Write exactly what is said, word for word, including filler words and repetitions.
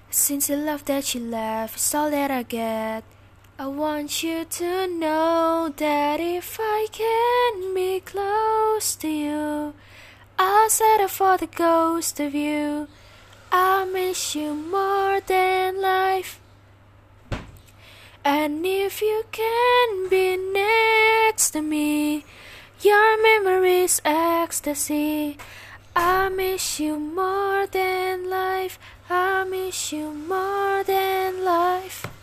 Since the love that you left is all that I get, I want you to know that if I can be close to you, I'll settle for the ghost of you. I miss you more than life. And if you can be next to me, your memory's ecstasy. I miss you more than life. I miss you more than life.